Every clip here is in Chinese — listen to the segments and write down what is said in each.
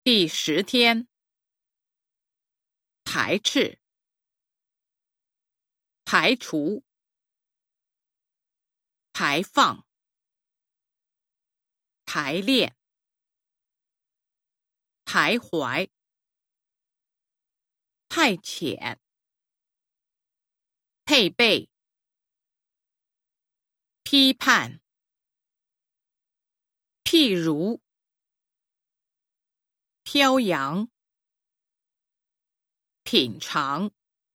第10天，排斥、排除、排放、排练、徘徊、派遣、配备、批判、譬如、飘扬、品尝、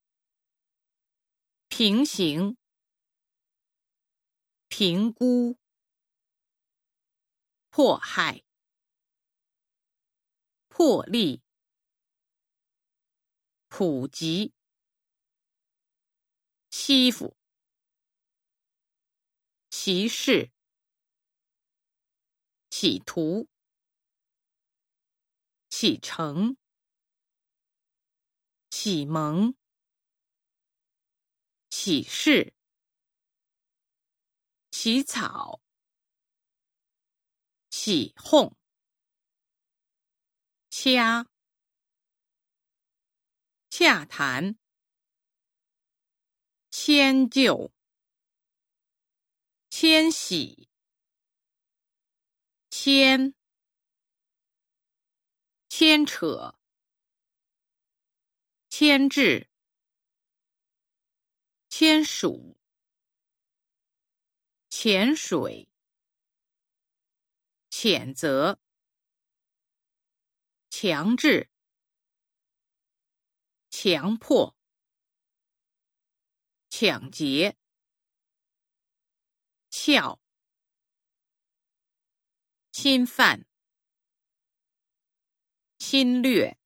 平行、评估、迫害、破例、普及、欺负、歧视、企图、启程、启蒙、启示、起草、起哄、掐、洽谈、迁就、迁徙、牵、牵扯、牵制、签署、潜水、谴责、强制、强迫、抢劫、撬、侵犯、侵略、